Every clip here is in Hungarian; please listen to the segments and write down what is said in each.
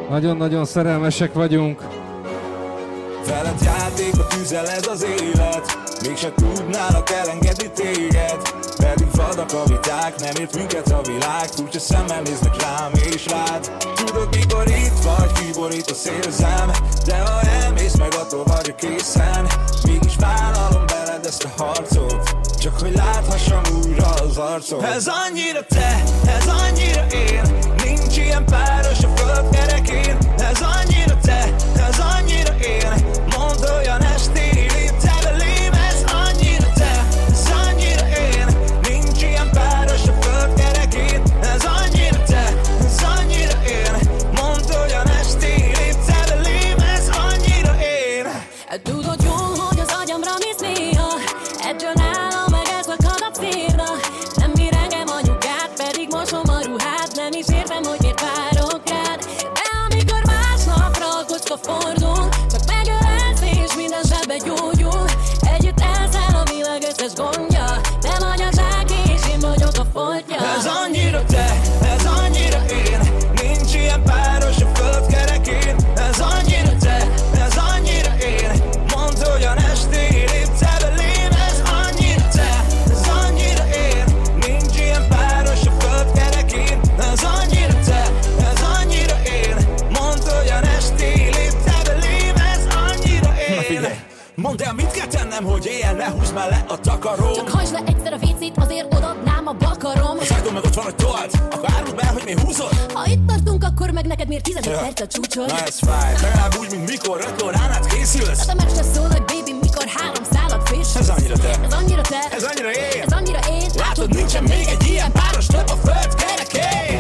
Nagyon-nagyon szerelmesek vagyunk. Veled játékba tüzel ez az élet, mégse tudnának elengedni téged. Pedig vadak a viták, nem ért minket a világ. Furcsa szemmel néznek rám és rád. Tudod mikor itt vagy, kiborít a szélzem, de ha elmész meg attól vagyok készen. Mégis vállalom veled ezt a harcot, csak hogy láthassam újra az arcot. Ez annyira te, ez annyira én, nincs ilyen páros a föld kerekén. Ez annyira te, ez annyira én, mondd olyan estéig lépte belém. Ez annyira te, ez annyira én, nincs ilyen páros a föld kerekén. Ez annyira te, ez annyira én, mondd olyan estéig lépte belém. Ez annyira én. Tudod jól, hogy az agyamra mész néha, ettől nálam meg ez lakad a célra. Nem bír engem anyukát, pedig mosom a ruhát. Nem is értem, hogy miért várok rád. De amikor másnapra a kocka fordul, csak megölelsz és minden zsebbe gyógyul. Együtt elszáll a világ összes gondja, te vagy a zsák és én vagyok a foltja. Ez annyira te, ez annyira én, nincs ilyen páros a föld kerekén. Ez annyira te, ez annyira én, mondd olyan estéig lépte belém. Ez annyira te, ez annyira én, nincs ilyen páros a föld kerekén. Ez annyira te, ez annyira én, mondd olyan estéig lépte belém. Ez annyira én. Na figyelj, mondd el, mit kell tennem, hogy éjjel ne húzd már le a takarom. Csak hajtsd le egyszer a vécét, azért odadnám a bakarom. Az ajdon meg ott van, hogy told, akkor áruld be, hogy mi húzod. Ha itt tartunk, akkor meg neked miért 15 perc a csúcsod? Na ez fáj, legalább úgy, mint mikor 5 órán át készülsz. Hát a meccsre szól, hogy baby, mikor 3 szálat fésülsz. Ez annyira te, ez annyira te, ez annyira én, ez annyira én. látod, nincsen még egy ilyen páros több a föld kerekén.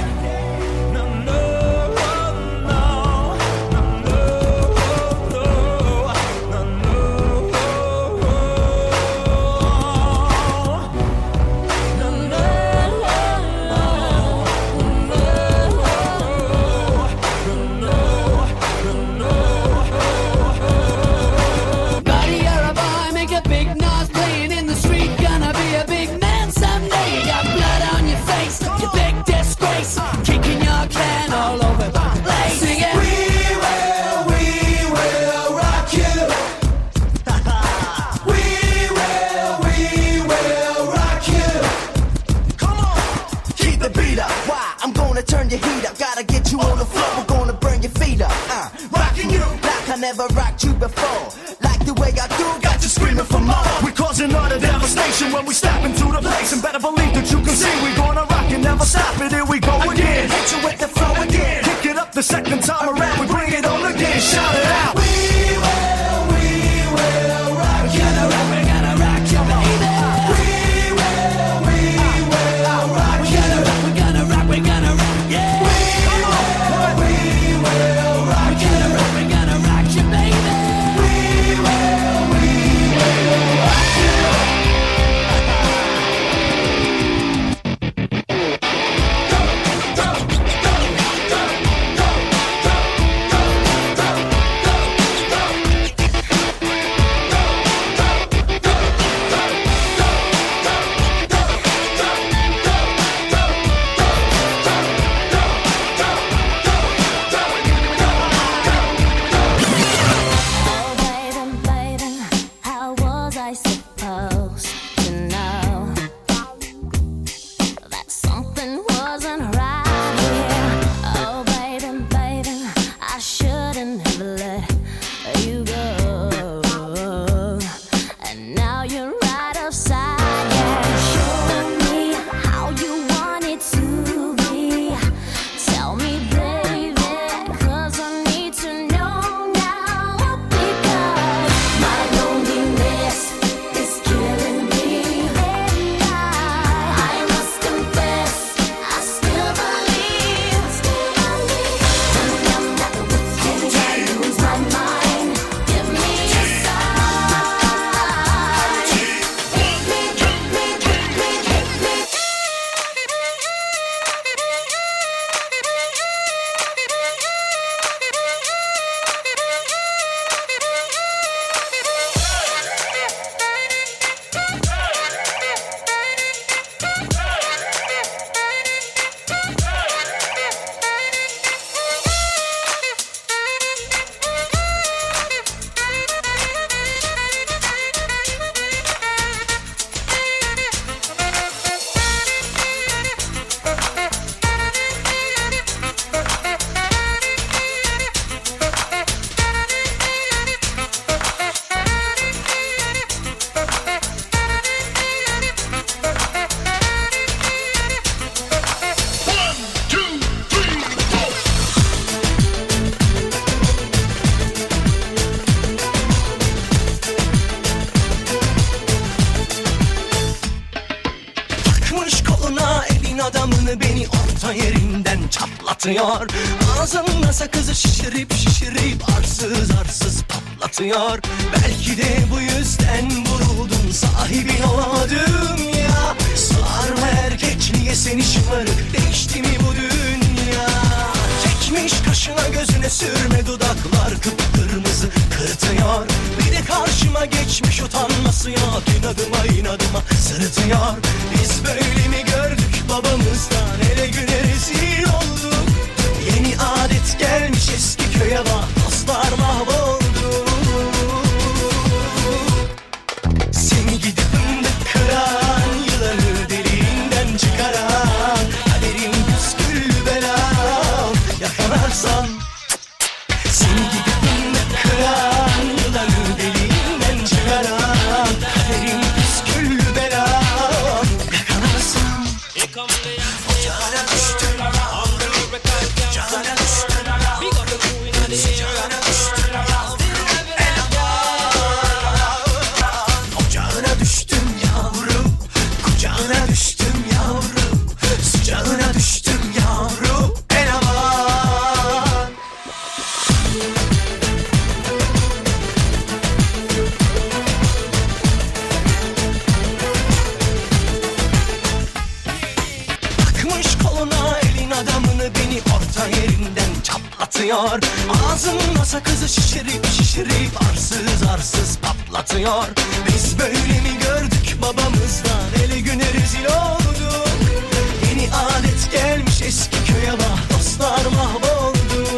Turn your heat up, gotta get you on the floor. We're gonna burn your feet up. Rocking you like I never rocked you before. Like the way I do, got you screaming for more. We're causing utter devastation when we step into the place. And better believe that you can see we're gonna rock and never stop it. Here we go again. Hit you with the flow again. Pick it up the second time around. We bring it on again. Shout it out. We will rock you. We're gonna rock you, baby. We will rock you. We're gonna rock. We're gonna rock. adamını beni orta yerinden çatlatıyor. Ağzımda sakızı şişirip arsız arsız patlatıyor. Belki de bu yüzden vuruldum, sahibin olamadım ya. Sığar mı erkekliğe seni şımarık, değişti mi bu dünya? Çekmiş kaşına gözüne sürme, dudaklar kıpkırmızı kırıtıyor. Bir de karşıma geçmiş utanması yok, inadıma sırıtıyor. Biz böyle mi gördük babamızdan, hele güne rezil olduk. Yeni adet gelmiş eski köye bak, dostlar mahvoldu. Seni gidip fındık kıran, yılanı deliğinden çıkaran, kaderim püskül belam yakalarsam. Seni gidip fındık kıran, yılanı deliğinden çıkaran, kaderim püskül belam yakalarsam. Ocağına düştüm, ocağına düştüm, ocağına düştüm ocağına düştüm yavrum, kucağına düştüm yavrum, sıcağına düştüm yavrum, en aman. Takmış koluna elin adamını, beni orta yerinden çatlatıyor. Ağzımda sakızı şişirip arsız patlatıyor. Biz böyle mi gördük babamızdan, hele güne rezil olduk. Yeni adet gelmiş eski köye bak, dostlar mahvoldu.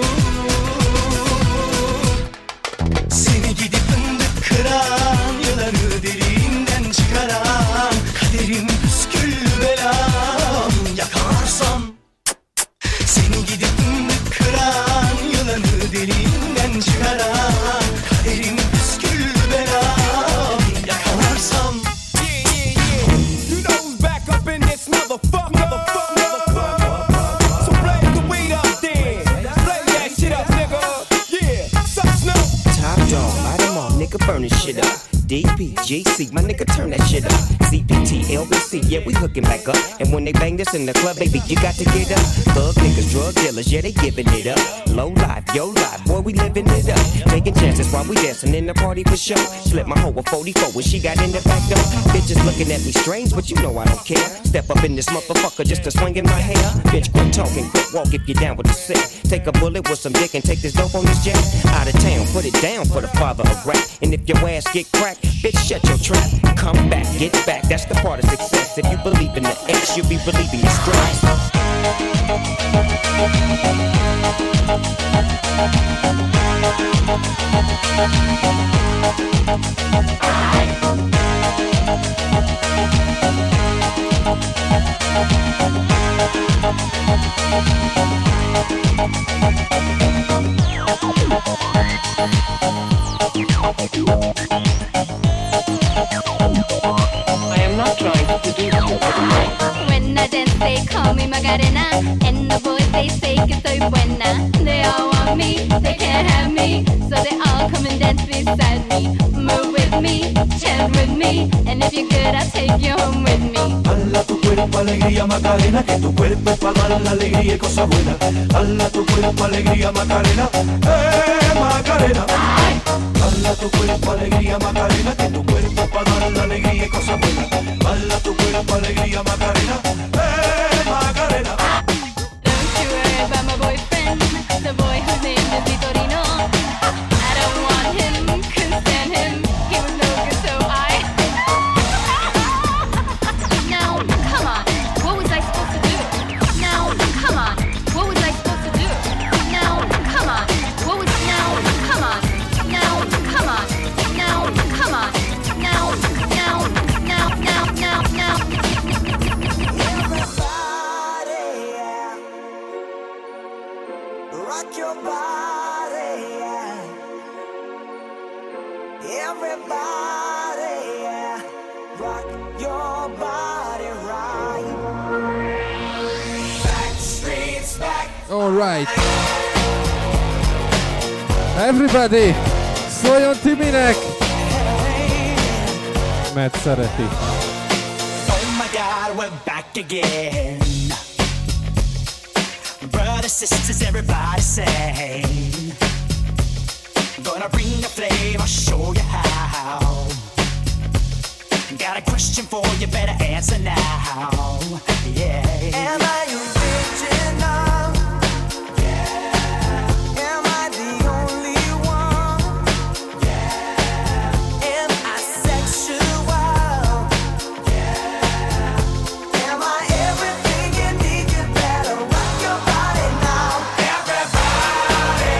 Seni gidip fındık kıran, yılanı deliğinden çıkaran, kaderim püskül belam yakalarsam. Seni gidip fındık kıran, yılanı deliğinden çıkaran, kaderim püskül belam yakalarsam. You know who's back up in this motherfucker. So blaze the weed up then. Blaze that shit up, nigga. Yeah, suck Snoop. Top dog, light 'em off, nigga, burn this shit up. DPGC, my nigga, turn that shit up. CPT, LBC, yeah, we hooking back up. And when they bang this in the club, baby, you got to get up. Thug niggas, drug dealers, yeah, they giving it up. Low life, yo life, boy, we living it up. Taking chances while we dancing in the party for show. Slip my hoe a 44 when she got in the back door. Bitches looking at me strange, but you know I don't care. Step up in this motherfucker just to swing in my hair. Bitch, quit talking, quit walk if you're down with the sick. Take a bullet with some dick and take this dope on this jet. Out of town, put it down for the father of rap. And if your ass get cracked, bitch, shut your trap. Come back, get back, that's the part of success. If you believe in the X, you'll be believing your stress. I am not trying to seduce you. When I dance, they call me Macarena. And the boys, they say que soy buena. They all want me, they can't have me. So they all come and dance beside me. Move with me, chant with me. And if you're good, I'll take you home with me. Hala tu cuerpo, alegría, Macarena. Que tu cuerpo es para dar la alegría y cosas buenas. Hala tu cuerpo, alegría, Macarena. Macarena. Hala tu cuerpo, alegría, Macarena. Que tu cuerpo es para dar la alegría y cosas buenas. Hala tu cuerpo, alegría, Macarena. Macarena. Don't you worry about my boyfriend, the boy whose name is Vitorino. I don't want him, couldn't stand him. He was no good, so I. Now, come on, what was I supposed to do? Now, come on, what was I supposed to do? Now, come on, what was now? Come on, now, come on, now, come on, now. Rock your body, yeah. Everybody, yeah. Rock your body right. Backstreet's back. All right. Everybody, szóljon Timinek! Mert szereti. Oh my God, we're back again. brothers, sisters, everybody sing. Gonna bring the flame, I'll show you how. Got a question for you, better answer now. Yeah. Am I original? Yeah. Am I the only one? Yeah. Am I sexual? Yeah. Am I everything you need? You better rock your body now. Everybody,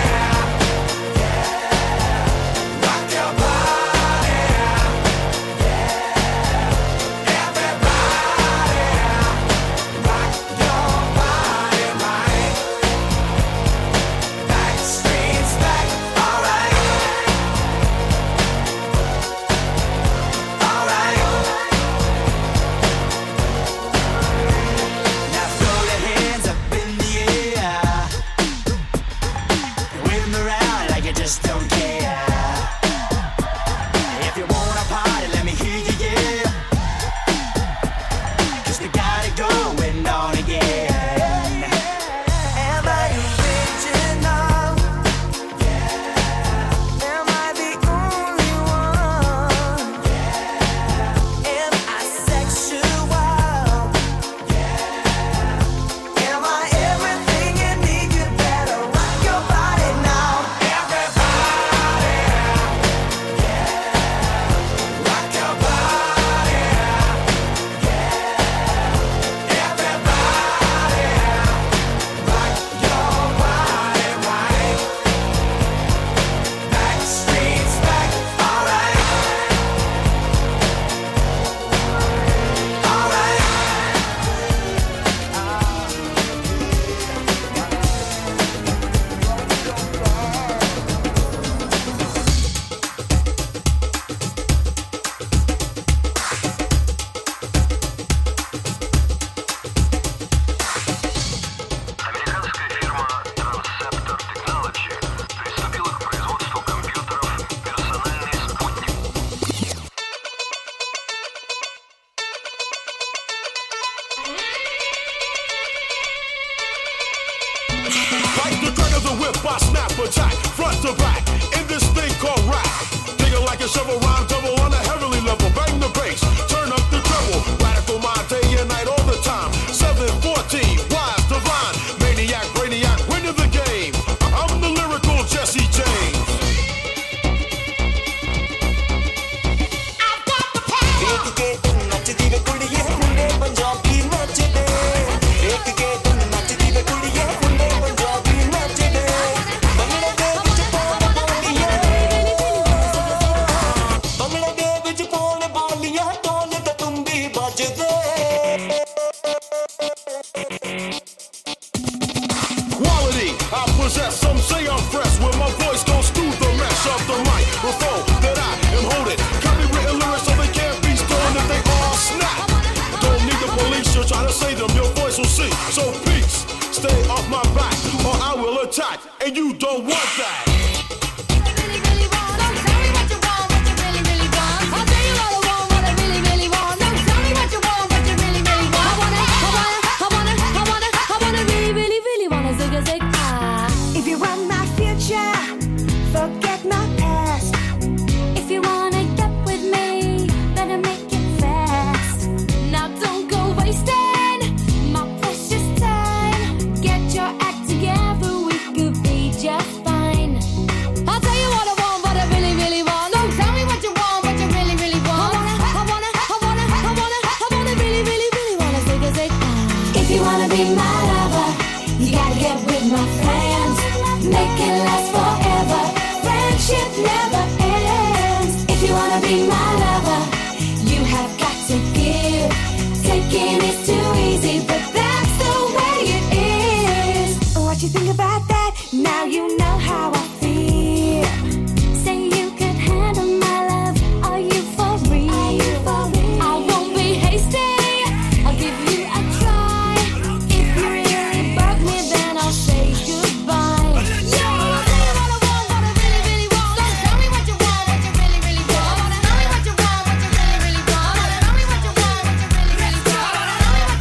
yeah. Rock your body, yeah. Everybody, rock your body right. Backstreet's back, alright. Alright. Now throw your hands up in the air. Wave them around like you just don't care. If you wanna party, let me hear you, yeah. 'Cause we got it going on again. Am I original? Yeah. Am I the only one? Yeah. Am I sexual? Yeah. Am I everything you need? You better rock your body now. Everybody, yeah. Rock your body, yeah. Everybody, rock your body right. Backstreet's back, alright. Alright. Американская фирма Transceptor Technology приступила к производству компьютеров «Персональный спутник». Like the crack of the whip, I snap attack, front to back, in this thing called rap. Digging like a shovel, rhyme double on a heavenly level. Bang the bass, turn up the treble. Radical mind day and night all the time. 714, wise, divine, maniac, brainiac, winning the game. I'm the lyrical Jesse James. देख के तुम नचदी वे कुड़िए मुंडे पंजाबी नचदे देख के तुम नचदी वे कुड़िए मुंडे पंजाबी नचदे बंगले दे विच पौन बोलिए बंगले दे विच पौन बोलिए ढोल ते तुंबी बजदे Quality, I possess. Some say I'm fresh when my voice goes through the mesh of the microphone that I am holding. Copywritten lyrics so they can't be stolen if they all snap. Don't need the police to try to say them. Your voice will see. So peace, stay off my back or I will attack, and you don't want that. If you want my future, forget my past. If you wanna get with me, better make it fast. Now don't go wasting my precious time. Get your act together, we could be just fine. I'll tell you what I want, what I really, really want. Don't tell me what you want, what you really, really want. I wanna really, really, really wanna zig. If you wanna be my lover, you gotta get with my friends. Make it last forever. Friendship never ends. If you wanna be my lover, you have got to give. Taking is too easy, but that's the way it is. What you think about that? Now you know how I feel. Say you could handle my love. Are you for real? I won't be hasty. I'll give you a try. If you really bug me, then I'll say goodbye. Yeah, I'll tell you what I want, what I really, really want. So tell me what you want, what you really, really want. Tell me what you want, what you really, really want. Tell me what you want, what you really, really want. Tell me what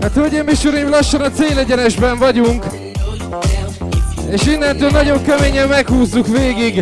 Hát hölgyeim és uraim, lassan a célegyenesben vagyunk. És innentől nagyon keményen meghúzzuk végig.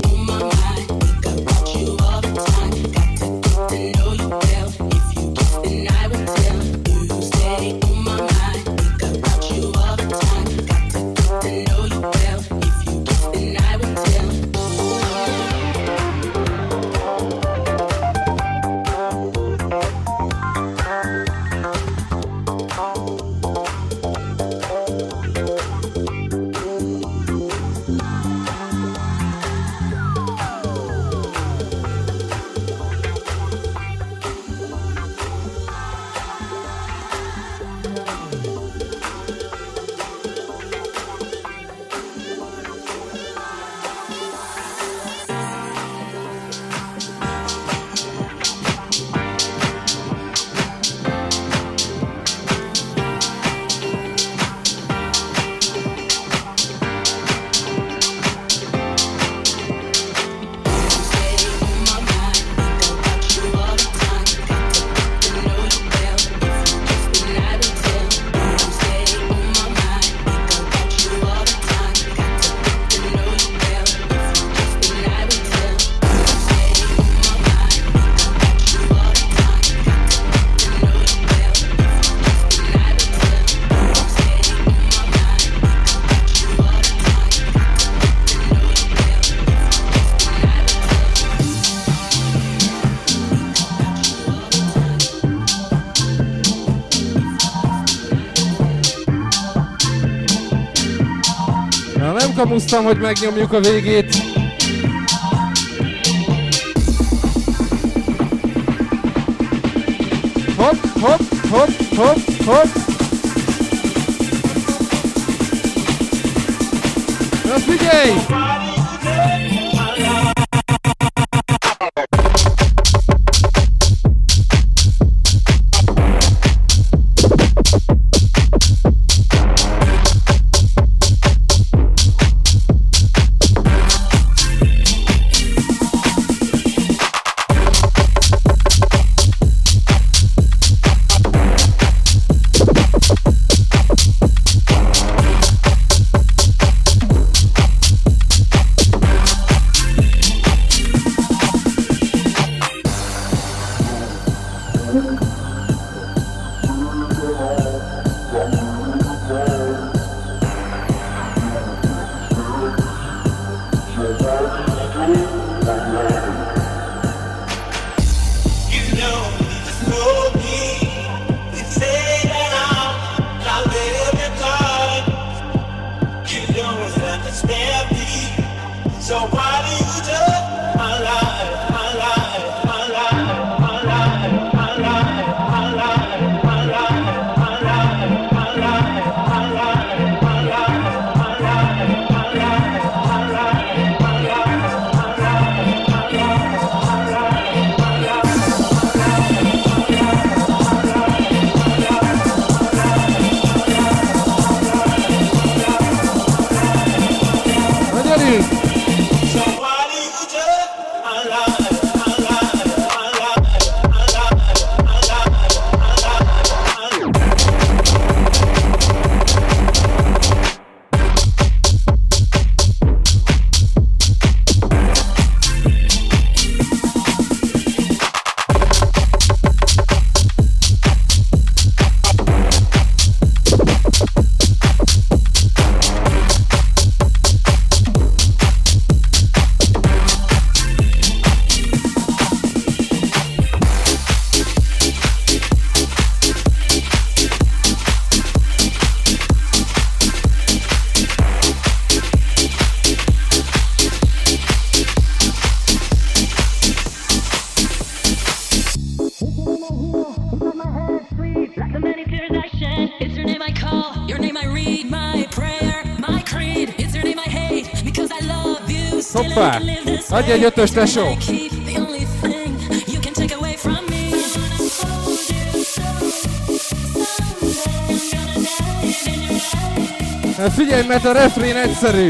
Kamusztam, hogy megnyomjuk a végét. Hopp, hopp, hopp, hopp, hopp. Na figyelj! Hoppá! Adj egy ötös, tesó! Figyelj, mert a refrén egyszerű!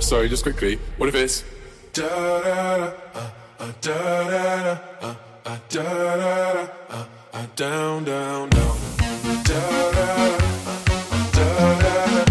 sorry, just quickly. What if it's da da da da da da da down down down da da da da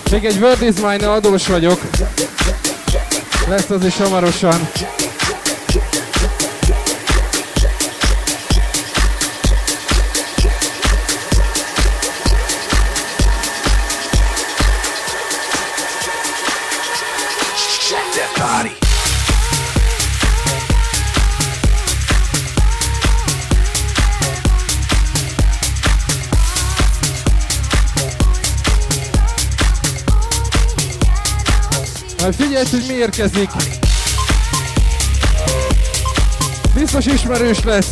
Még egy Word is Mine adós vagyok. Lesz az is hamarosan. Majd figyelj, hogy mi érkezik. Biztos ismerős lesz.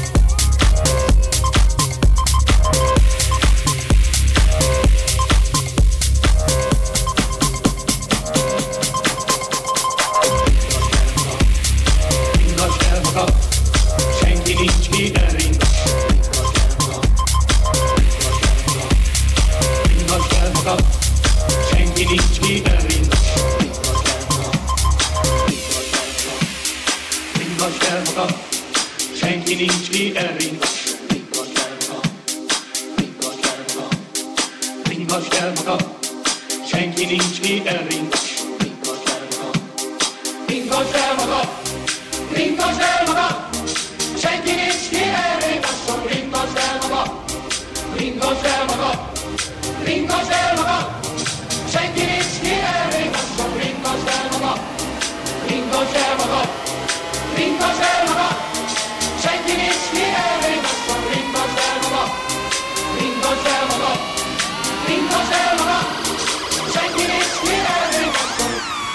Senki nincs ki elringas. Ringasd el magad, senki nincs ki elringas. Ringasd el magad, senki nincs ki elringas. Ringasd el magad, senki nincs ki elringas. Ringasd el magad, ringasd el magad. Senki nincs ki elringasson, ringasd el magad, ringasd el magad, ringasd el magad. Senki nincs ki elringasson, ringasd el magad, ringasd el magad, ringasd el magad. Senki nincs ki elringasson, ringasd el magad, ringasd el magad, ringasd el magad. Senki nincs ki elringasson.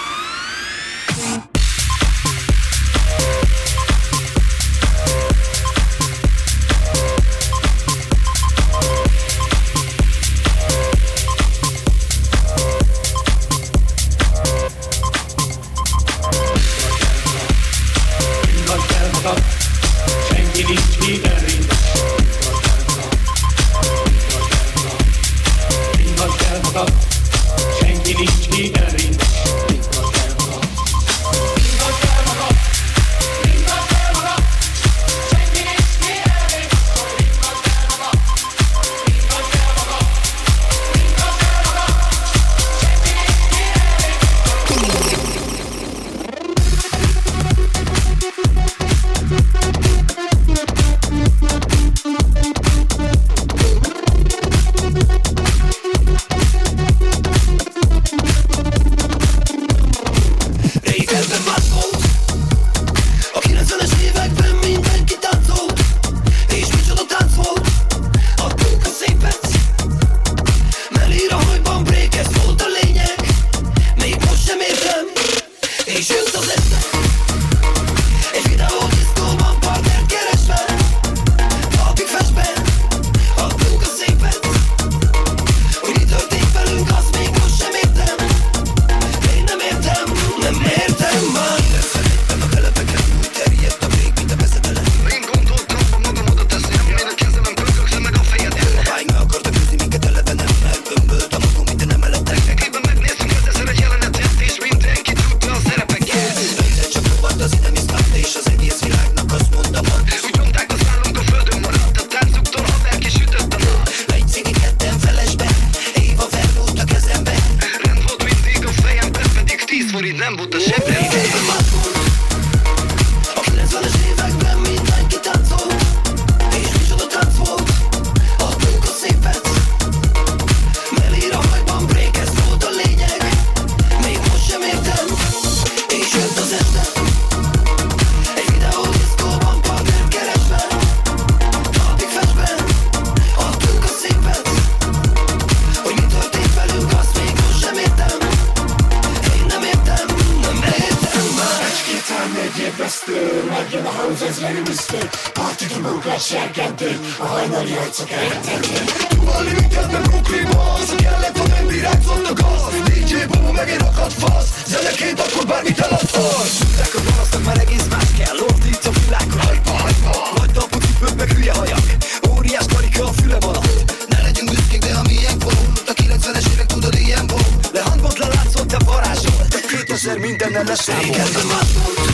Mindennel leszámolt. Régebben más volt.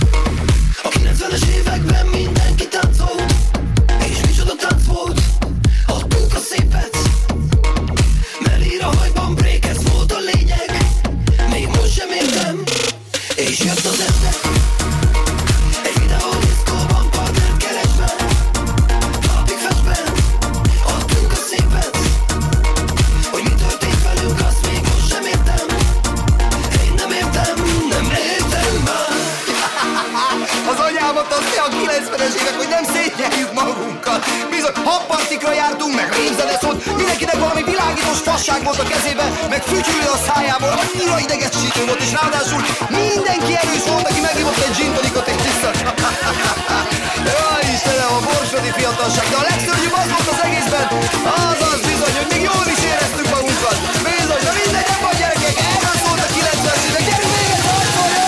A 90-es években mindenki táncolt. És micsoda tánc volt. Adtunk a szépet. Melír a hajban, break, ez volt a Az anyámat azt a 90-es évek, hogy nem szétnyeljük magunkat. Bizony, habpartikra jártunk, meg rémzene szólt, mindenkinek valami világítós fasság volt a kezében, meg fütyülő a szájából, annyira idegesítő volt, és ráadásul mindenki erős volt, aki meghívott egy gin tonicot egy tisztat. Jaj, Istenem, a borsodi fiatalság, de a legszörnyűbb az volt az egészben, az bizony, hogy még jól is éreztük magunkat. Bizony, de mindegy, nem vagy gyerekek, erről szólt a 90-es évek, gyerünk még egy harcol, jó!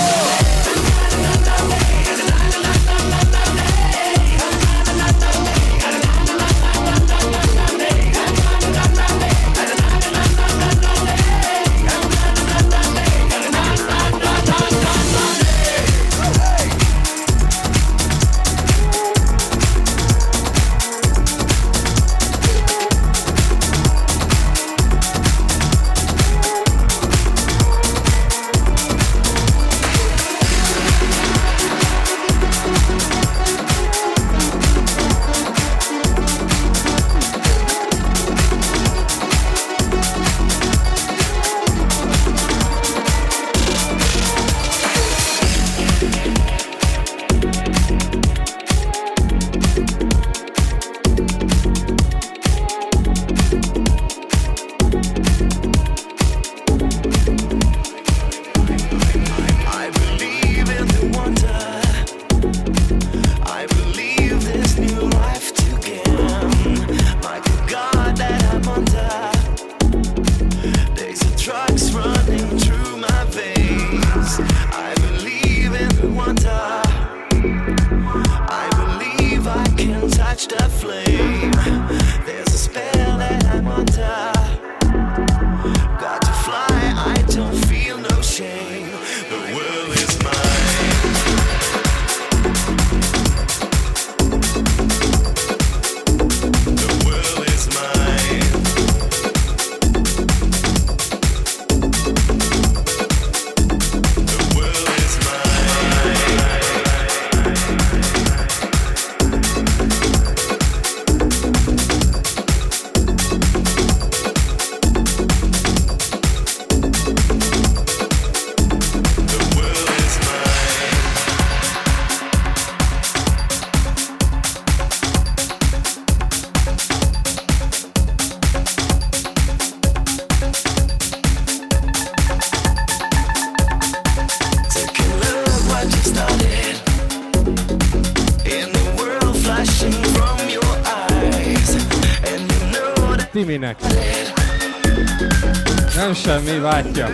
Timinek. Nem semmi, vágyja.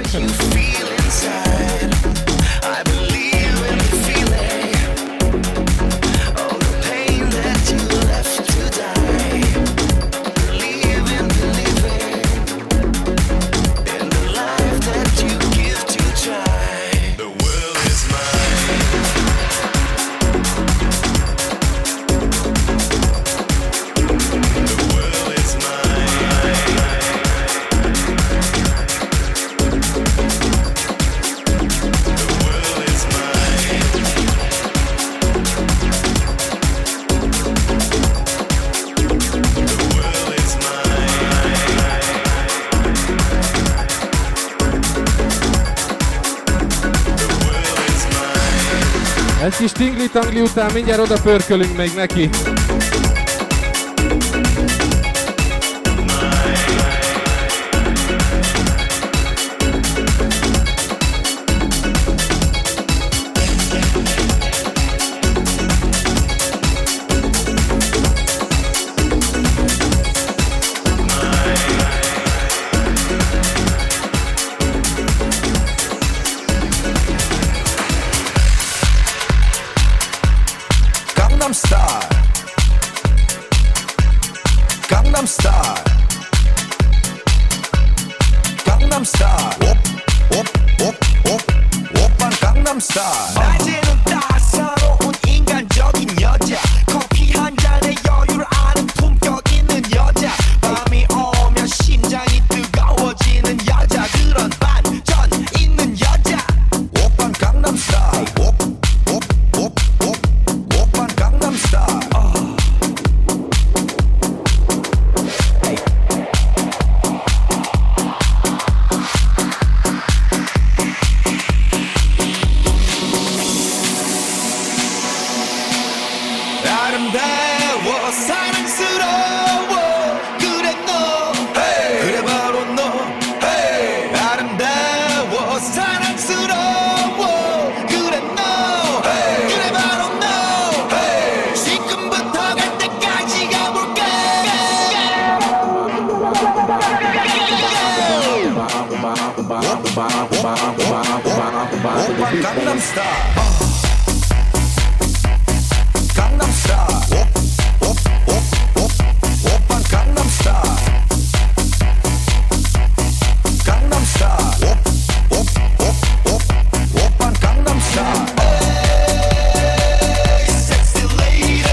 Egy kis tingli-tangli után mindjárt oda pörkölünk még neki. 사랑스러워 그래 너 hey. 그래 바로 너 hey. 아름다워 사랑스러워 그래 너 hey. 그래 바로 너 hey. 지금부터 갈 때까지 가볼까 오빤 강남스타일 강남스타일 오빤 강남스타일 강남스타일 오빤 강남스타일 에이 섹시 레이디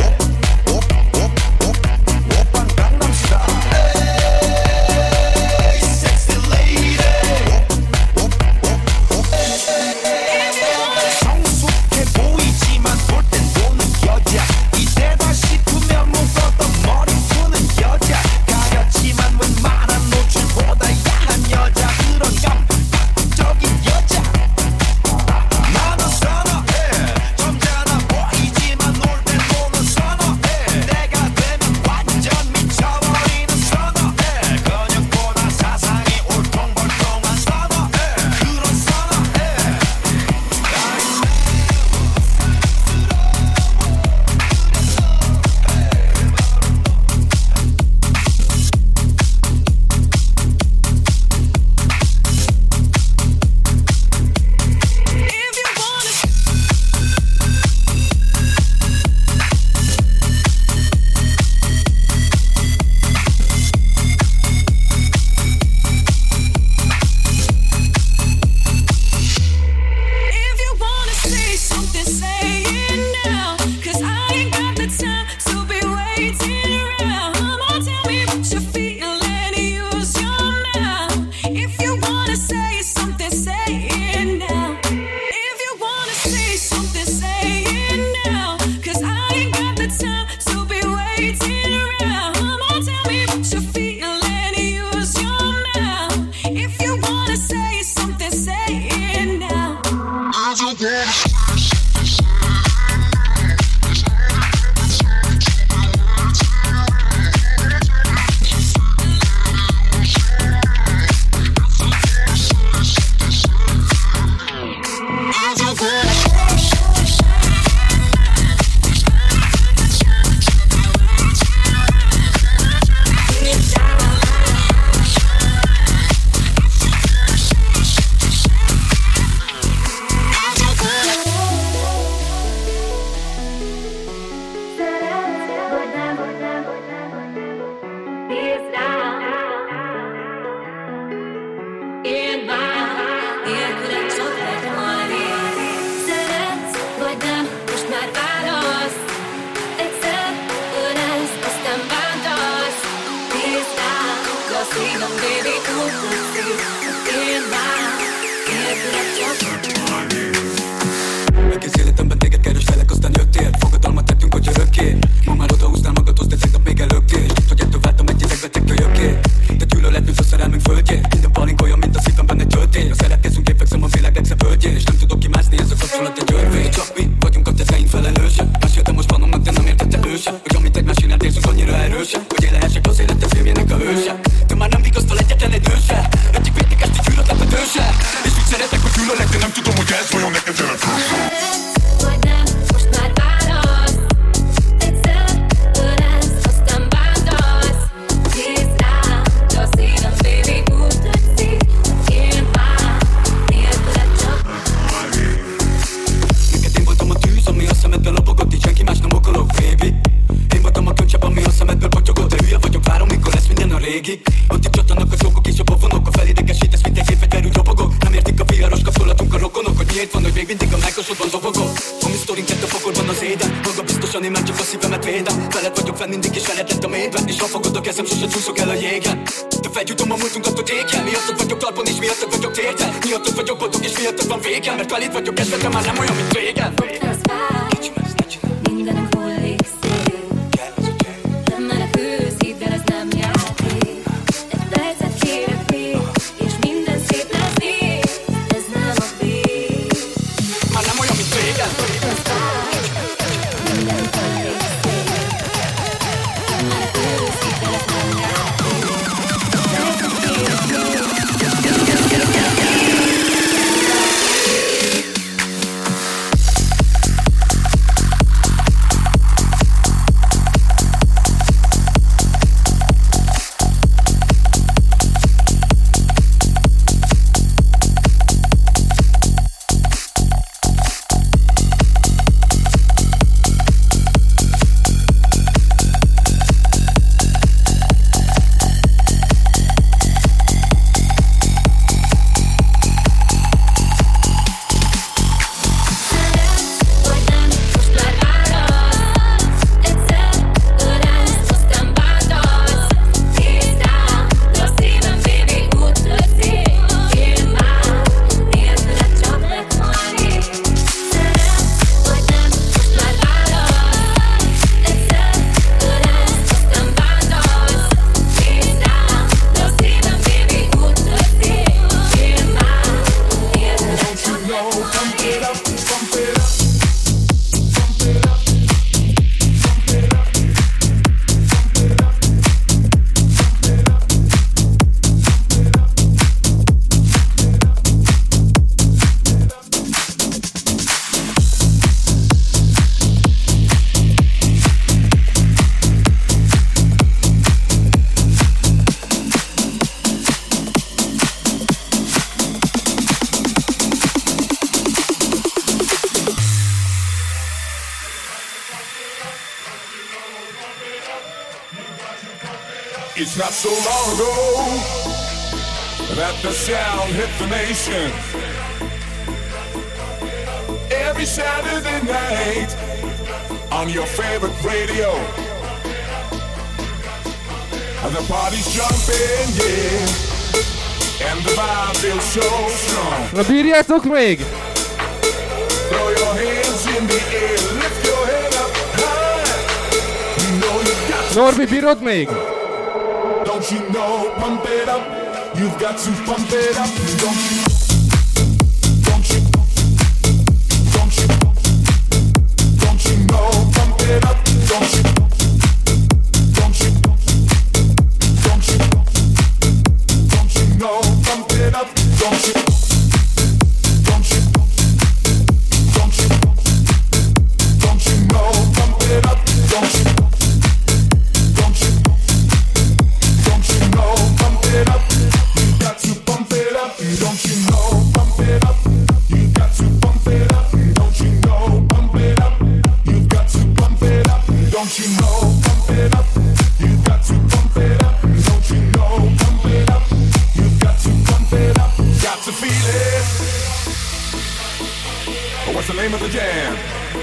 오빤 강남스타일 에이 섹시 레이디 성숙해 보이지만 볼 땐 노는 여자 이때다 싶으면 묶었던 머리 푸는 여자 가렸지만 웬만한 노출보다 야한 여자 그런 감각적인 여자 나는 선어해 점잖아 보이지만 놀 땐 노는 선어해 내가 되면 완전 미쳐버리는 선어해 근육보다 사상이 울퉁불퉁한 선어해 그런 선어해 If you wanna say something, say it now. 'Cause I ain't got the time to be waiting around. Come on, tell me what you're feeling, use your mouth. If you wanna say something, say it now. If you wanna say something, say it now. 'Cause I ain't got the time to be waiting around. Come on, tell me what you're feeling, use your mouth. If you wanna say something, say it now. Aki széletemben téged kereslek, aztán jöttél. Fogadalmat tettünk, hogy örökké. Ma már odahúznál magadhoz, de tegnap még előttél. Hogy ettől váltam egy idegbetek kölyökké. De gyűlöletünk a szerelmünk földjén. Minden palink olyan, mint a szívemben egy töltény. A szeretkezünk, én fekszem a világ legszebb földjén. És nem tudok kimászni, ez a kapcsolat egy örvény. Csak mi vagyunk a tetteink felelőse. Meséltem most vanomnak, de nem értette őse. Hogy amit egymás iránt érzünk annyira erőse. Hogy élehessek az életet filmjének a hőse. De már nem vigasztal egyetlen egy nőse. Egyik végig esti gyűlöletletőse. És úgy szeretek, hogy gyűlölek, de nem tudom, hogy ez vajon neked jelentőse. Vagy nem, most már válasz. Egyszer ölelsz, aztán bántasz. Nézd rám, de a szívem, baby, úgy tetszik. Én már nélküled csak. Neked én voltam a tűz, ami a szemedben lobogott. Így senki más nem okolok, baby. Én voltam a könycsepp, ami a szemedből potyogott. De hülye vagyok, várom, mikor lesz minden a régi. Ott itt csatanak a csókok és a pofonok. A felidegesítesz, mint egy gépfegyverű robogok. Nem értik a viharos kapcsolatunk a rokonok. Hogy miért van, hogy még mindig a mákosodban dobogok. A mi sztorink lett a pokolban az éden. Maga biztosan én már csak a szívemet védem. Veled vagyok fenn mindig és veled lett a mélyben. És ha fogod a kezem, sose csúszok el a jégen. De felgyújtom a múltunkat, hogy éken. Miattad vagyok talpon és miattad vagyok térden. Miattad vagyok boldog és miattad van végem. Mert veled vagyok kezdve, de már nem olyan, mint régen. Mindenünk hullik szél. Nem menekülsz, hidd el, ez nem játék. Egy percet kérek még, és minden szép lesz még. Ez nem a vég. Már nem olyan, mint régen. Mindenünk hullik szél. It's not so long ago that the sound hit the nation. Every Saturday night on your favorite radio. And the party's jumping, yeah. And the vibe feels so strong. Na bírjátok még? Throw your hands in the air, lift your head up high. You know you got to. Norbi, bírod még? Don't you know, pump it up. You've got to pump it up. Don't you? Don't you? Don't you? Don't you know, pump it up. Don't you? Don't you? Don't you? Don't you know, pump it up. Don't you? Don't you? Don't you? Don't you know, pump it up. Don't you? Don't you? Don't you know, pump it up. You got to pump it up. Don't you know, pump it up. You got to pump it up. Don't you know, pump it up. You got to pump it up. Don't you know, pump it up. You got to pump it up. Don't you know, pump it up. You got to pump it up. Got to feel it. What's the name of the jam?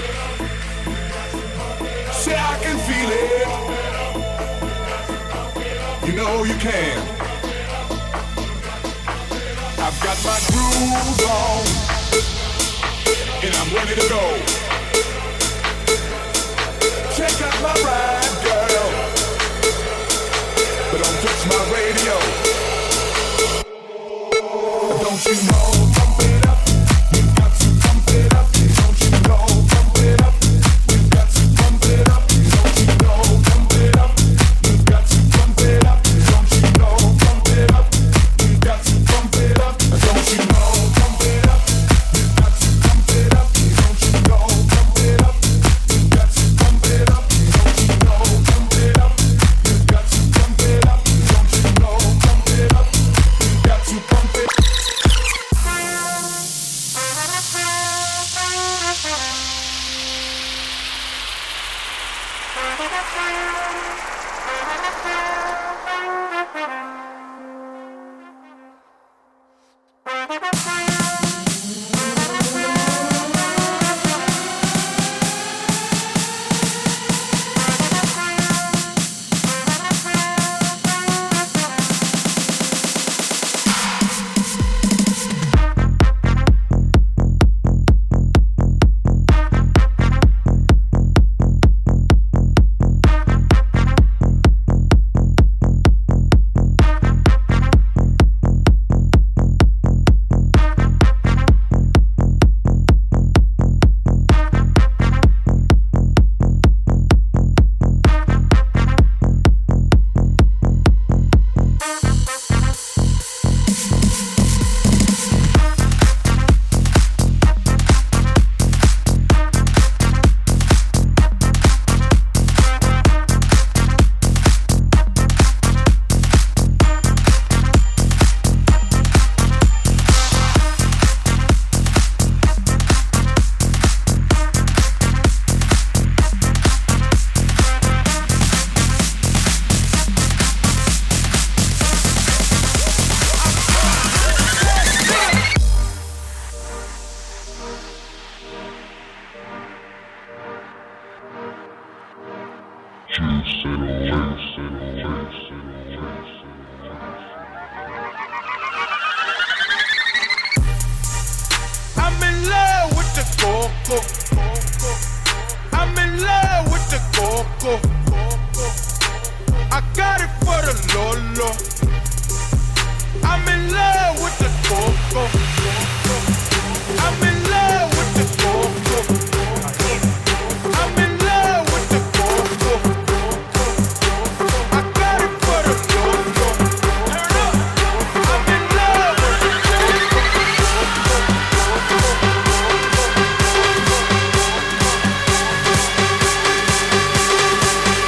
Say I can feel it. You know you can. I've got my groove on, and I'm ready to go. Check out my ride, girl, but don't touch my radio. Don't you know, pump it up. You got to pump it up. Don't you know, pump it up. You got to pump it up. Don't you know, pump it up. You got to pump it up. Don't you know, pump it up. You got to pump it up. Don't you know, pump it up. You got to pump it up. Don't you know, pump it up. You got to pump it up. Don't you know, pump it up. You got to pump it up. Don't you know, pump it up. You got to pump it. I'm in love with the coco. I'm in love with the coco. I got it for the Lolo. I'm in love with the coco. I'm in love with the coco. I'm in love with the coco. I got it for the Lolo. Turn up. I'm in love with the coco.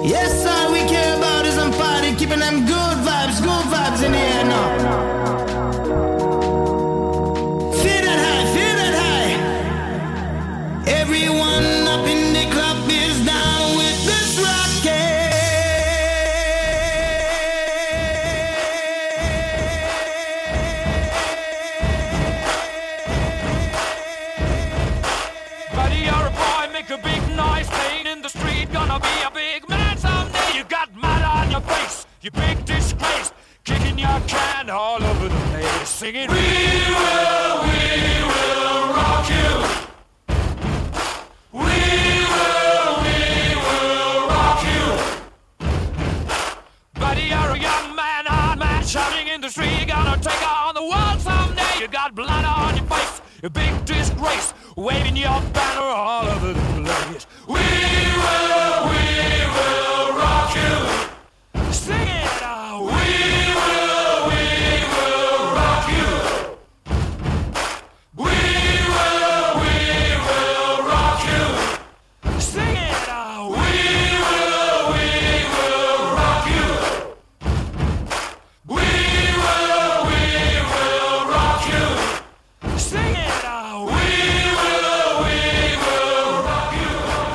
Yes, all we care about is some party, keeping them good vibes in the air now. Feel that high. Everyone up in the club is down with this rocket. Buddy, you're a boy, make a big noise, playing in the street, gonna be a big man someday. You got mud on your face, you big disgrace, kicking your can all over the place, singing, we will rock you. We will rock you. Buddy, you're a young man, hard man, shouting in the street, gonna take on the world someday. You got blood on your face, a big disgrace, waving your banner all over the place. We will rock you. Sing it out. We will rock you. We will rock you. Sing it out. We will rock you. We will rock you. Sing it out. We will rock you.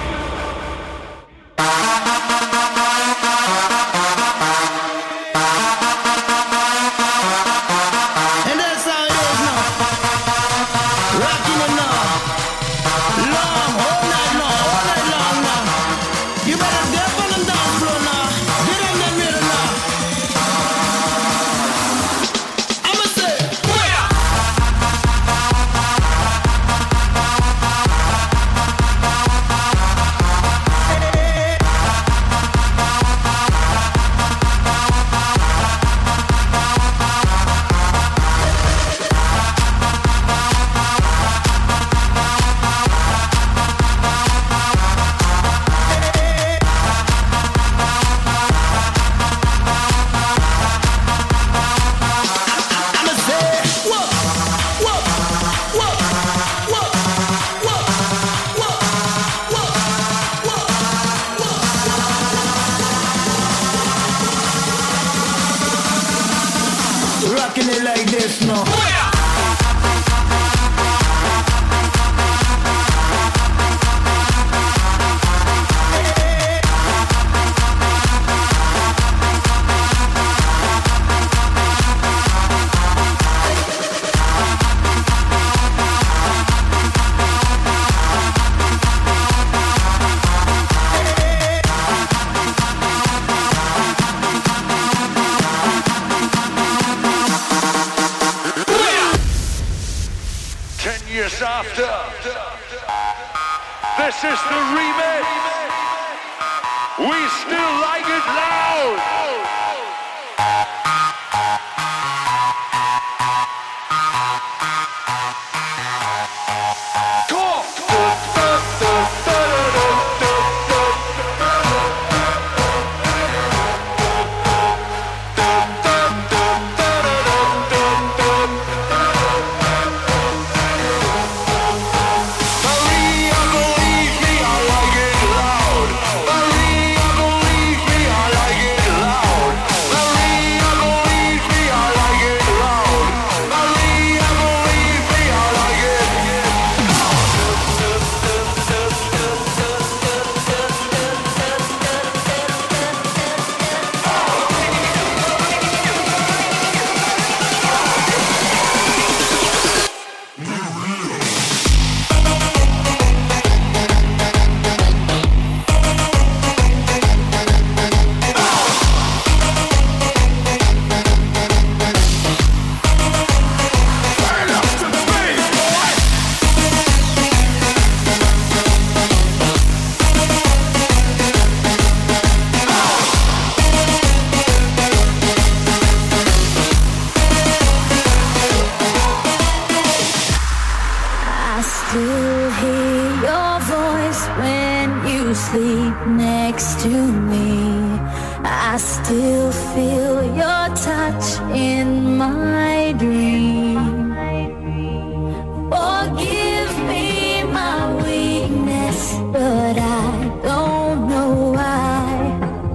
And that's how it is now. Rocking it now. Long, all night long now. You better dip on the dance floor now. Get in that rhythm now. I'ma say, rocking it like this now. Years after, this is the remix. We still like it loud. sleep next to me. I still feel your touch in my dream. Forgive me my weakness, but I don't know why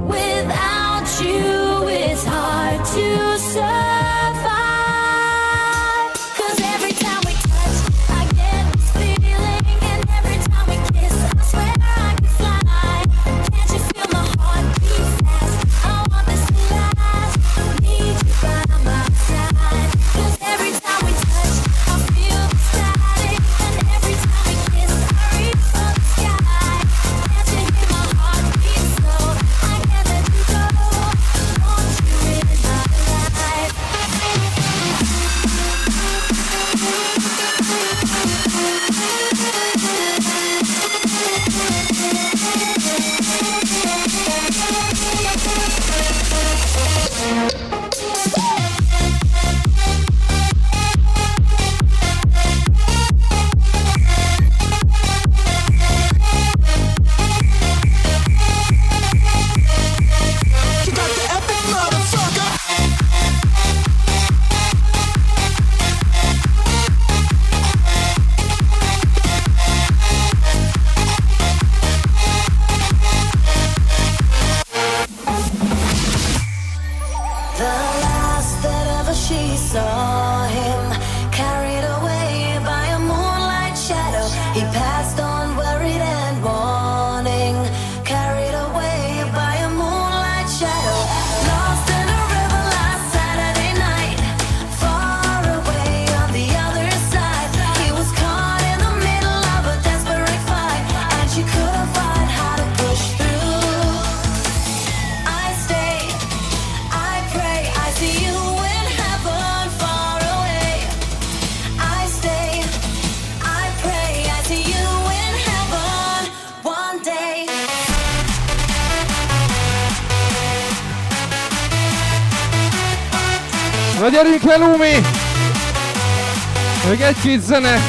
Na gyerünk el, Lumi! Még egy-két zene.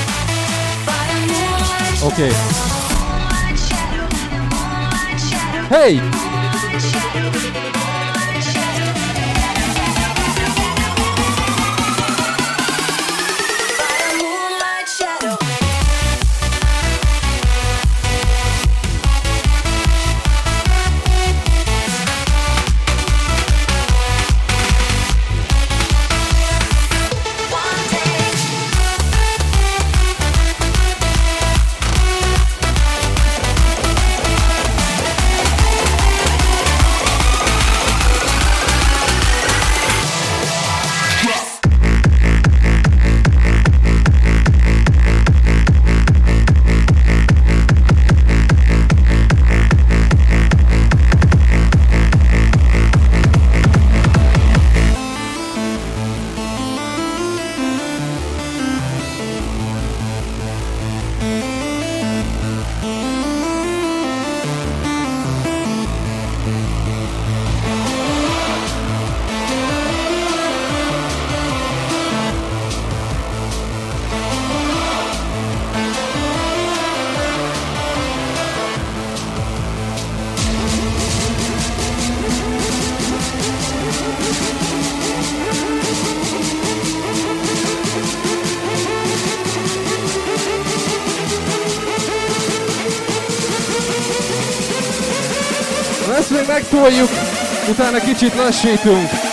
Oké. Hey! Ezt még megtoljuk, utána kicsit lassítunk.